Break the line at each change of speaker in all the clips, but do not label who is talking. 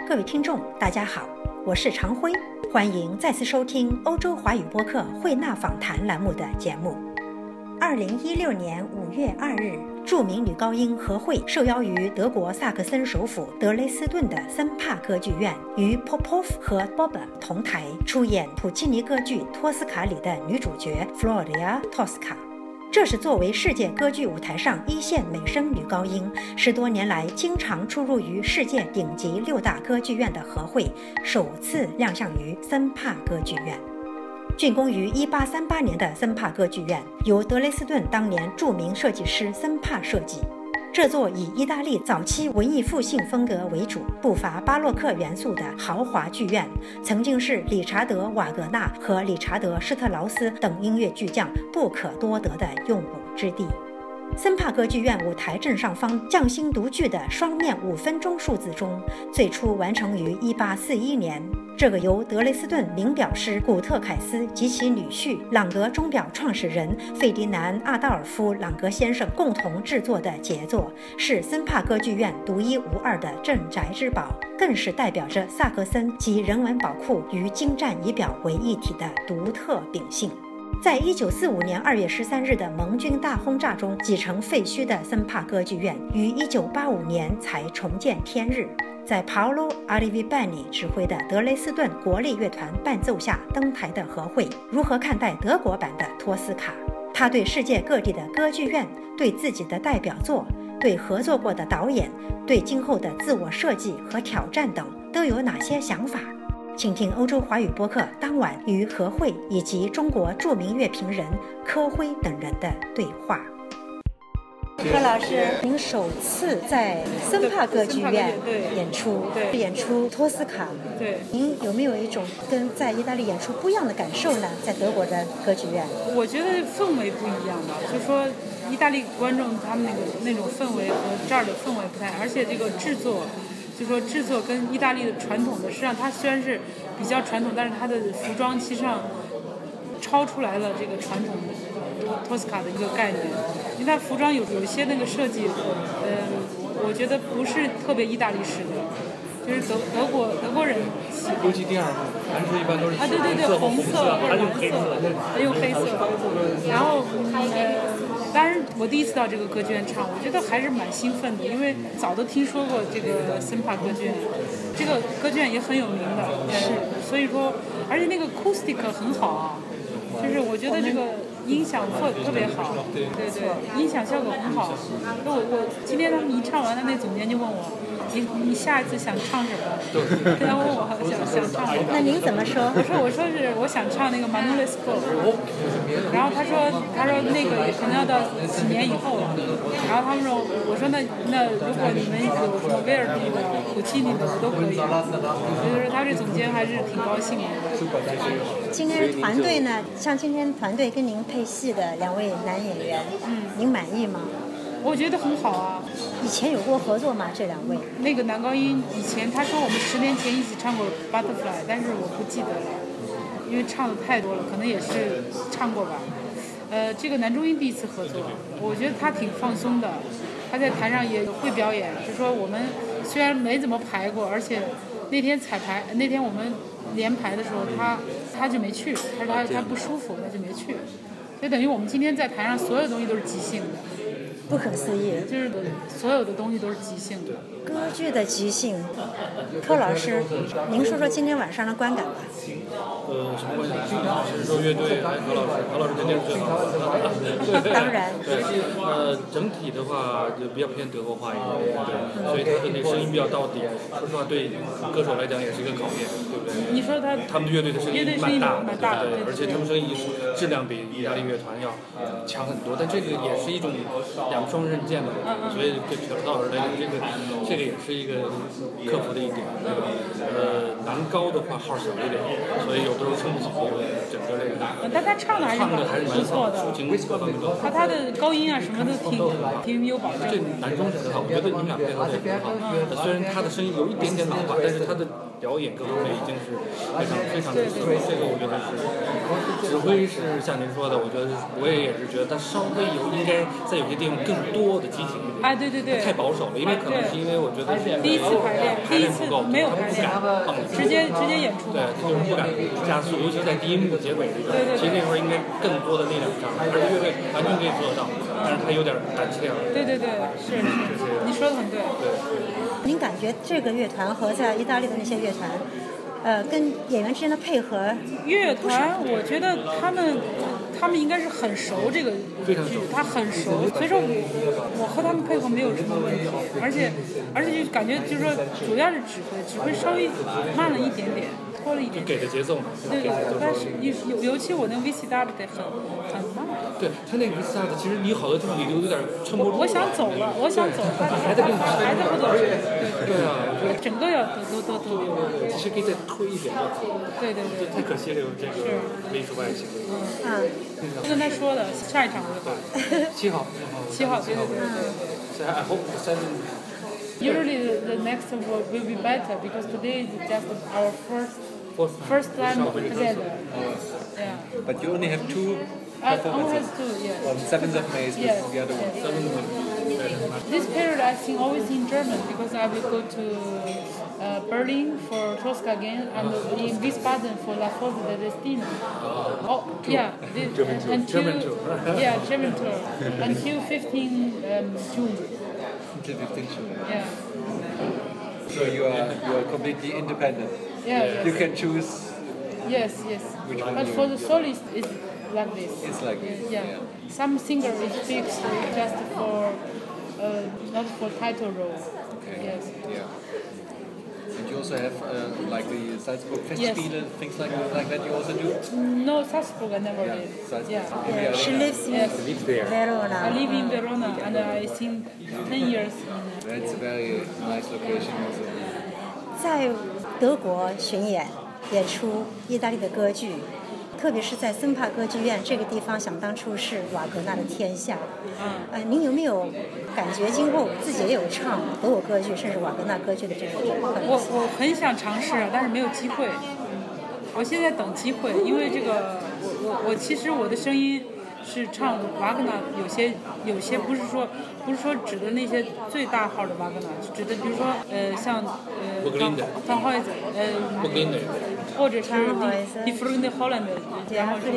各位听众，大家好，我是常辉，欢迎再次收听欧洲华语播客慧纳访谈栏目的节目。2016年5月2日，著名女高音何慧受邀于德国萨克森首府德累斯顿的森帕歌剧院，与 Popov 和 Boba 同台出演普契尼歌剧《托斯卡》里的女主角 Floria Tosca。这是作为世界歌剧舞台上一线美声女高音，10多年来经常出入于世界顶级6大歌剧院的何慧，首次亮相于森帕歌剧院。竣工于1838年的森帕歌剧院，由德累斯顿当年著名设计师森帕设计。这座以意大利早期文艺复兴风格为主、不乏巴洛克元素的豪华剧院，曾经是理查德·瓦格纳和理查德·施特劳斯等音乐巨匠不可多得的用武之地。森帕歌剧院舞台正上方匠心独具的双面5分钟数字钟，最初完成于1841年。这个由德累斯顿名表师古特凯斯及其女婿朗格钟表创始人费迪南·阿道尔夫·朗格先生共同制作的杰作，是森帕歌剧院独一无二的镇宅之宝，更是代表着萨克森及人文宝库与精湛仪表为一体的独特秉性。在1945年2月13日的盟军大轰炸中几成废墟的森帕歌剧院，于1985年才重见天日。在 Paolo Alivibani 指挥的德累斯顿国立乐团伴奏下登台的何慧，如何看待德国版的托斯卡？他对世界各地的歌剧院、对自己的代表作、对合作过的导演、对今后的自我设计和挑战等都有哪些想法？请听欧洲华语播客当晚与何慧以及中国著名乐评人柯辉等人的对话。柯老师，您首次在森帕歌剧院演出，演出托斯卡，
对，
您有没有一种跟在意大利演出不一样的感受呢？在德国的歌剧院，
我觉得氛围不一样吧，就说意大利观众他们那种氛围和这儿的氛围不太，而且这个制作。就说制作跟意大利的传统的，实际上它虽然是比较传统，但是它的服装其实上超出来了这个传统托斯卡的一个概念，因为它服装有一些那个设计，我觉得不是特别意大利式的，就是德国人喜欢。
尤其第二幕，男士一般都是
对，红色或者蓝色，用黑色，然后当然我第一次到这个歌剧院唱，我觉得还是蛮兴奋的，因为早都听说过这个森帕歌剧院，这个歌剧院也很有名的，所以说，而且那个 acoustic 很好啊，就是我觉得这个音响特别好，对，音响效果很好。我今天他们一唱完了，那总监就问我，你下一次想唱什么？然后我想唱什么？
那您怎么说？
我说是我想唱那个 Manolesco， 然后他说那个可能要到几年以后了。然后他们说，我说那如果你们有什么威尔第的、普契尼的都可以。就是他这总监还是挺高兴的。
今天团队呢？像今天团队跟您配戏的2位男演员，您满意吗？
我觉得很好啊。
以前有过合作吗？这2位？
那个男高音以前他说我们10年前一起唱过 Butterfly， 但是我不记得了，因为唱的太多了，可能也是唱过吧。这个男中音第一次合作，我觉得他挺放松的，他在台上也会表演。就说我们虽然没怎么排过，而且那天我们连排的时候，他就没去，他不舒服，他就没去，就等于我们今天在台上所有东西都是即兴的。
不可思议，
就是所有的东西都是即兴的。
歌剧的即兴，柯老师，您说说今天晚上的观感吧。
什么关系？是说乐队还是何老师肯定是最好的。
当然。
对，整体的话就比较偏德国化一点，所以他的那声音比较到底。说实话，对歌手来讲也是一个考验，对不对？
你说
他们的乐队的声音蛮大的，对，而且他们声音质量比意大利乐团要强很多，但这个也是一种两双刃剑嘛，所以对何老师来讲，这个也是一个克服的一点，对吧？男高的话号小一点，所以有的时候撑不起整个这个。
但他唱的还是不错的，
抒情各方面都。
他的高音啊什么的挺有保障。
这男生是很好，我觉得你们俩配合的也很好。虽然他的声音有一点点老化，但是他的表演各方面已经是非常的这个我觉得是指挥是像您说的，我觉得我也是觉得他稍微应该在有些地方更多的激情一点。
对对对，
太保守了，因为可能是因为我觉得
第一次排练
不够，
没有排练，直接演出。
对，就是不敢加速，尤其在第一幕结尾这个，其实那会儿应该更多的力量上，而且乐队完全可以做得到，但是他有点胆怯了。
对对对，是，你说的很对。
您感觉这个乐团和在意大利的那些乐团，跟演员之间的配合？
乐团，我觉得他们应该是很熟这个剧，他很熟，所以说我和他们配合没有什么问题，而且就感觉就是说主要是指挥稍微慢了一点点，拖了一点点，
给的节奏嘛。
对，但是尤其我那 VCW 得很慢。
对他那个 VCW 其实你好多地方你都有点撑不住。
我想走了，还在不走。对啊，整个要都。
其实可以再推一点就好。对。太可惜了，这个艺术外形。
就跟他说的，下一场我就到。
7号，对。So I hope the 7th.
Usually the next will be better because today is just our first time together. Yeah.
But you only have 2
only
performances.
have 2, yes.
On 7th of May is the other one.
7th of May.
This period I sing always in German because I will go to Berlin for Tosca again and in Wiesbaden for La Fosse de Destino. Yeah.
German tour.
Yeah, German tour. Until 15 June.
Until 15th June.
Yeah.
So you are completely independent.
Yeah.
You can choose.
Yes.
Which one
But for the solist, it's like this.
It's like this.
Yeah. Some singer is fixed just for not for title role.
Okay.
Yes.
Yeah. And you also have like the Salzburg Festspiele, things like that. You also do.
No, Salzburg I never did.
Salzburg.
Yeah.
She lives in Verona.
I live in Verona and I sing 10 years.
That's a very nice location also.
在德国巡演出意大利的歌剧，特别是在森帕歌剧院这个地方，想当初是瓦格纳的天下。您有没有感觉今后自己也有唱德国歌剧，甚至瓦格纳歌剧的这个可能性？
我很想尝试，但是没有机会。我现在等机会，因为这个我其实我的声音是唱瓦格纳，有些不是说指的那些最大号的瓦格纳，指的比如说像汤霍伊泽或者是Die Flugende Holländer，然后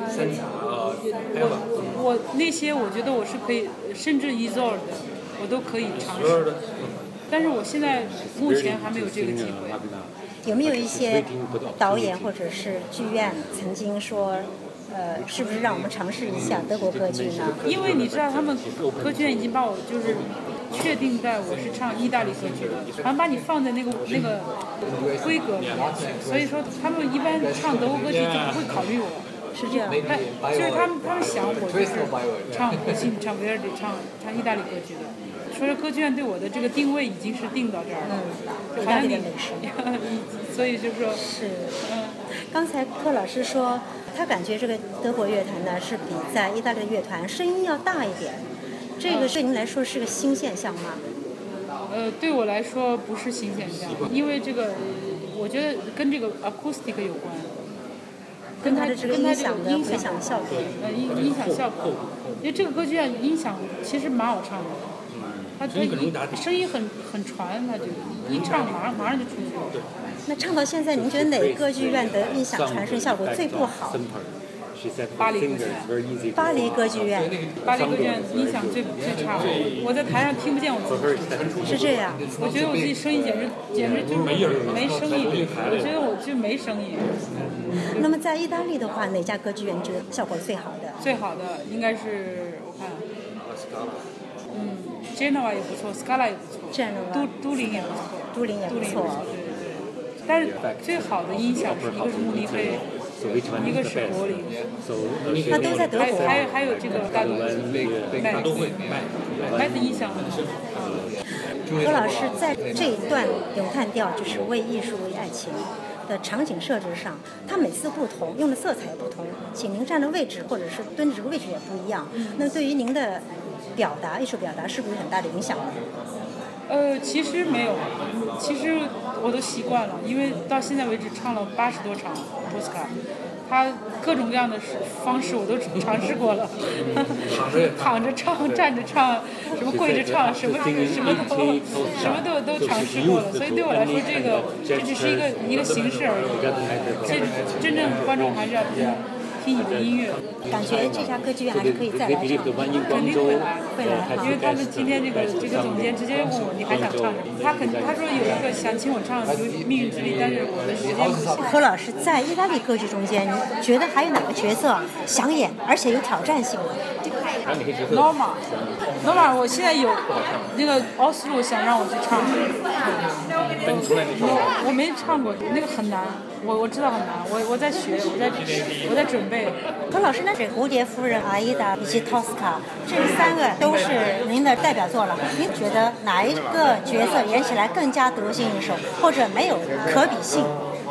我那些我觉得我是可以，甚至 Isolde 我都可以尝试，但是我现在目前还没有这个机会。
有没有一些导演或者是剧院曾经说？是不是让我们尝试一下德国歌剧呢？
因为你知道，他们歌剧院已经把我就是确定在我是唱意大利歌剧的，好像把你放在那个规格里面，所以说他们一般唱德国歌剧就不会考虑我。
是这样，
就是他们想我就是唱普契尼、唱维尔迪、唱意大利歌剧的。所以歌剧院对我的这个定位已经是定到这儿了，好像你，所以就说
是，刚才柯老师说，他感觉这个德国乐团呢是比在意大利的乐团声音要大一点，这个对您来说是个新现象吗？
对我来说不是新现象，因为这个我觉得跟这个 acoustic 有关，
跟它的这个音响的回响效果，
音响效果，因为这个歌剧院音响其实蛮好唱的。他声音很传，他就一唱马上就出去了。
那唱到现在，您觉得哪歌剧院的音响传声效果最不好？
巴黎歌剧院。
巴黎歌剧院。
巴黎歌剧院音响最差，我在台上听不见我自己。
是这样。
我觉得我自己声音简直就是没声音，我觉得我就没声音。
那么在意大利的话，哪家歌剧院觉得效果最好的？
最好的应该是我看。Genoa 也不错 ，Scala 也不错，都灵也不错，
都灵也不错。
对。但是最好的音响是一个是慕尼黑，一个是柏林。
那都在德国。
还有这个大都会，麦的音响很好。
何老师在这一段咏叹调就是为艺术为爱情的场景设置上，它每次不同，用的色彩也不同，请您站的位置或者是蹲的这个位置也不一样。那对于您的艺术表达是不是有很大的影响呢？
其实没有，其实我都习惯了，因为到现在为止唱了80多场托斯卡，他各种各样的方式我都尝试过了，躺着唱、站着唱，什么跪着唱，什么都尝试过了，所以对我来说这只是一个形式而已，其实真正观众还是要听你的音乐。
感觉这家歌剧院还是可以再来唱，
肯定会来，因为他们今天这个总监直接问我你还想唱什么？他说有一个想请我唱《命运之力》，但是我的时间不行。
何老师在意大利歌剧中间，你觉得还有哪个角色想演，而且有挑战性的
？Norma，我现在有那个奥斯陆想让我去唱，我没唱过，那个很难，我知道很难，我在学，我在准备。
何老师，那是《蝴蝶夫人》、阿依达以及托斯卡，这3个都是您的代表作了。您觉得哪一个角色演起来更加得心应手，或者没有可比性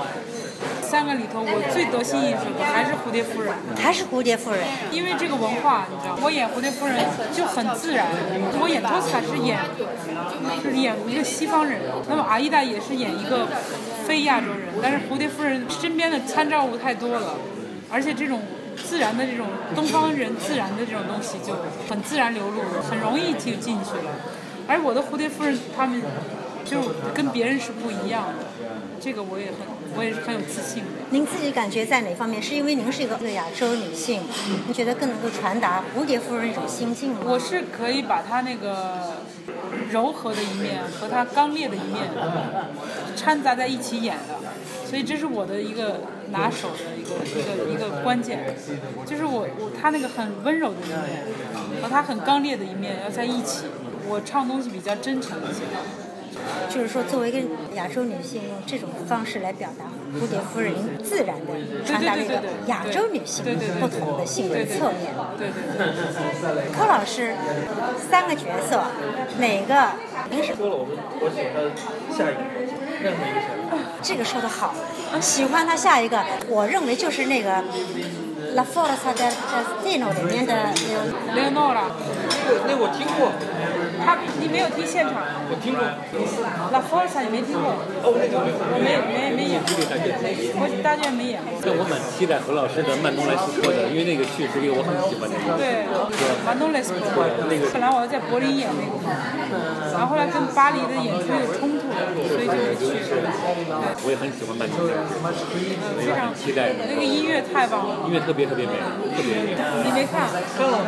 ？3个里头，我最得心应手的还是蝴蝶夫人。
还是蝴蝶夫人，
因为这个文化，你知道，我演蝴蝶夫人就很自然。我演托斯卡是演一个西方人，那么阿依达也是演一个非亚洲人，但是蝴蝶夫人身边的参照物太多了，而且这种自然的这种东方人自然的这种东西就很自然流露，很容易就进去了。而我的蝴蝶夫人他们就跟别人是不一样的，这个我也是很有自信的。
您自己感觉在哪方面？是因为您是一个亚洲女性，您觉得更能够传达蝴蝶夫人一种心境吗？
我是可以把她那个柔和的一面和她刚烈的一面掺杂在一起演的，所以这是我的一个拿手的一个关键，就是她那个很温柔的一面和她很刚烈的一面要在一起，我唱东西比较真诚一些。
就是说，作为一个亚洲女性，用这种方式来表达蝴蝶夫人自然的传达了一个亚洲女性不同的性格侧面。
对。
柯老师，3个角色，哪个您是？
说了，我喜欢下一个，任何一个下一个。
这个说得好，喜欢他下一个，我认为就是那个《La Forza del Destino》里面的
Leonora。
那我听过。
你没有听现场？
我听过。
La Forza 你没听过？
我
没演过。我大剧院没演过。
但我蛮期待何老师的曼东莱斯科的，因为那个剧是一个我很喜欢的。
对，曼东莱斯科。本来我要在柏林演那个，然后后来跟巴黎的演出有冲突，所以就没去。
我也很喜欢曼东莱斯，
非常
期待。
那个音乐太棒了，
音乐特别美，特别美。
你没看？看了。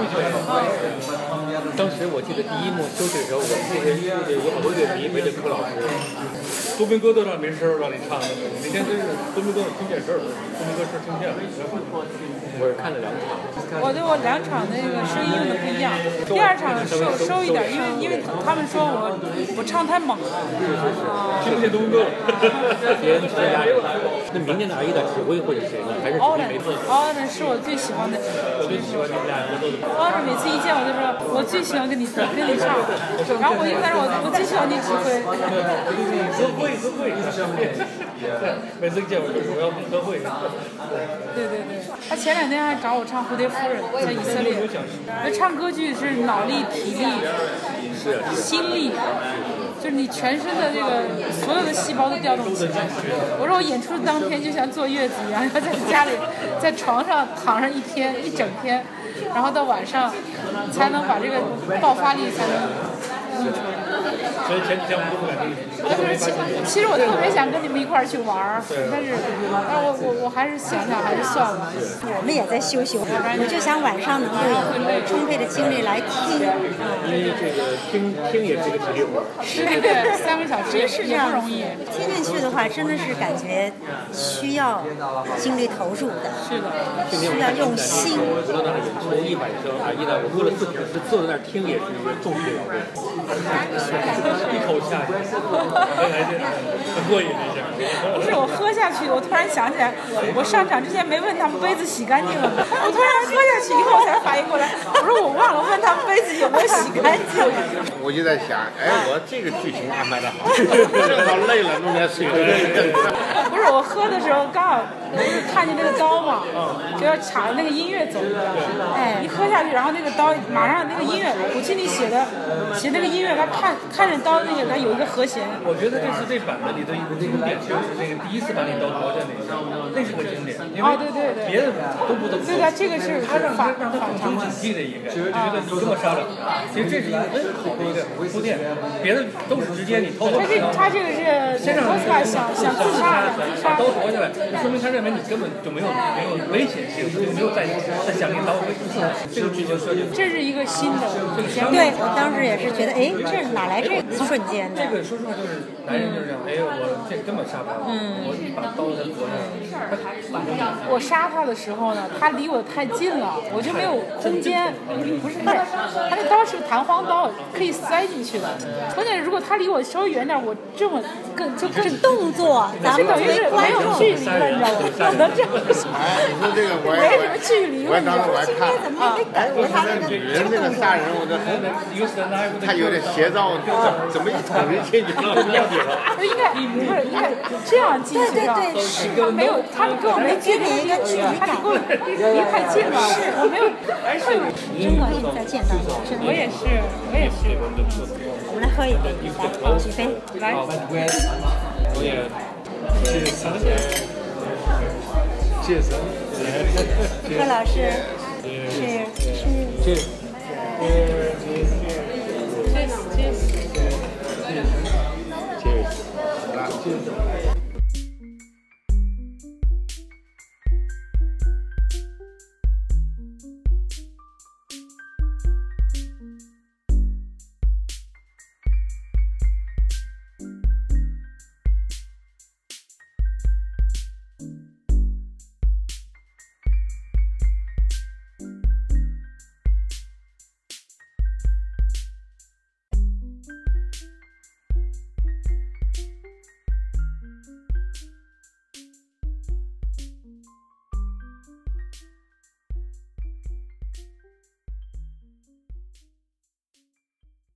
当时我记得第一幕休息的时候，我有好多乐迷围着柯老师。
多明哥都让没事让你唱的，那天真是多明哥听见事儿了，多明哥是听见了。
我是看了2场。
我2场那个声音用的不一样，第2场收一点，因为他们说我唱太猛了。
听不见多明哥了。
别人直接压着。那明年的阿依达指挥会是谁呢？还是
奥伦是我最喜欢的。
我最喜欢你们俩合作的。
奥伦每次一见我就说，我最喜欢跟你唱，然后我一开始我最喜欢你指挥。
会，每次见我就说我要歌会。
对，他前2天还找我唱《蝴蝶夫人》在以色列。唱歌剧是脑力、体力、心力，就是你全身的这个所有的细胞都调动起来。我说我演出当天就像坐月子一样，要在家里在床上躺上一整天，然后到晚上才能把这个爆发力才能弄出来。
所以前几天我们都不敢跟你。
其实我特别想跟你们一块儿去玩，但是我还是想还是算了。
我们也在休，我就想晚上能够有充沛的精力来听。
因为这个听也是个体力活。
对，3个小时也不容易。
听进去的话，真的是感觉需要精力投入的。
是的。
需要用心。
我到那儿演出1晚上，阿依达我喝了4瓶，坐在那儿听也是一个重体力劳动。
一口下去。 很过瘾一下。
不是我喝下去，我突然想起来，我上场之前没问他们杯子洗干净了吗？我突然喝下去以后才反应过来，我说我忘了问他们杯子有没有洗干净。
我就在想，我这个剧情安排的好，正好累了弄点水。
不是我喝的时候刚好看见那个刀嘛，就要卡着那个音乐走，一喝下去，然后那个刀马上那个音乐，我记你写那个音乐，他看着刀那个他有一个和弦。
我觉得这是这版本里的一个经典，就是那个第一次版里刀夺的那是个经典，因为别的都不怎么。
对的，这个是
他让他反常警惕的一个，就觉得你这么杀了，其实这是一个很好的一个铺垫，别的都是直接你偷。
他这个是奥斯卡想自杀，
把刀夺下来，说明他认为你根本就没有危险性，就没有再想那刀会出现。这个剧情设计，
这是一个新的。
对，我当时也是觉得，这哪来这瞬间的？
这个说实话就是男人就是这样，我这根本杀不了，我一把刀才夺下来。
我杀他的时候呢，他离我太近了，我就没有空间。不是，他那刀是个弹簧刀，可以塞进去的。关键如果他离我稍微远点，我这么更
动作，咱们
等于是没有距离了，你知道吗？不能这样。
你说这个
没什么距离了，
我当时我还看，
怎么没感觉他那个
女人这个杀人，我这他有点邪道，怎么一捅就进去了？
应该不是应该这样进去的，他没有，他们跟我没距离一个距离感，他跟我离太近了，我没有。
真高兴再见到你，
我也是。
我们来喝一杯，来，起飞，
来。
我也
柯老师，是。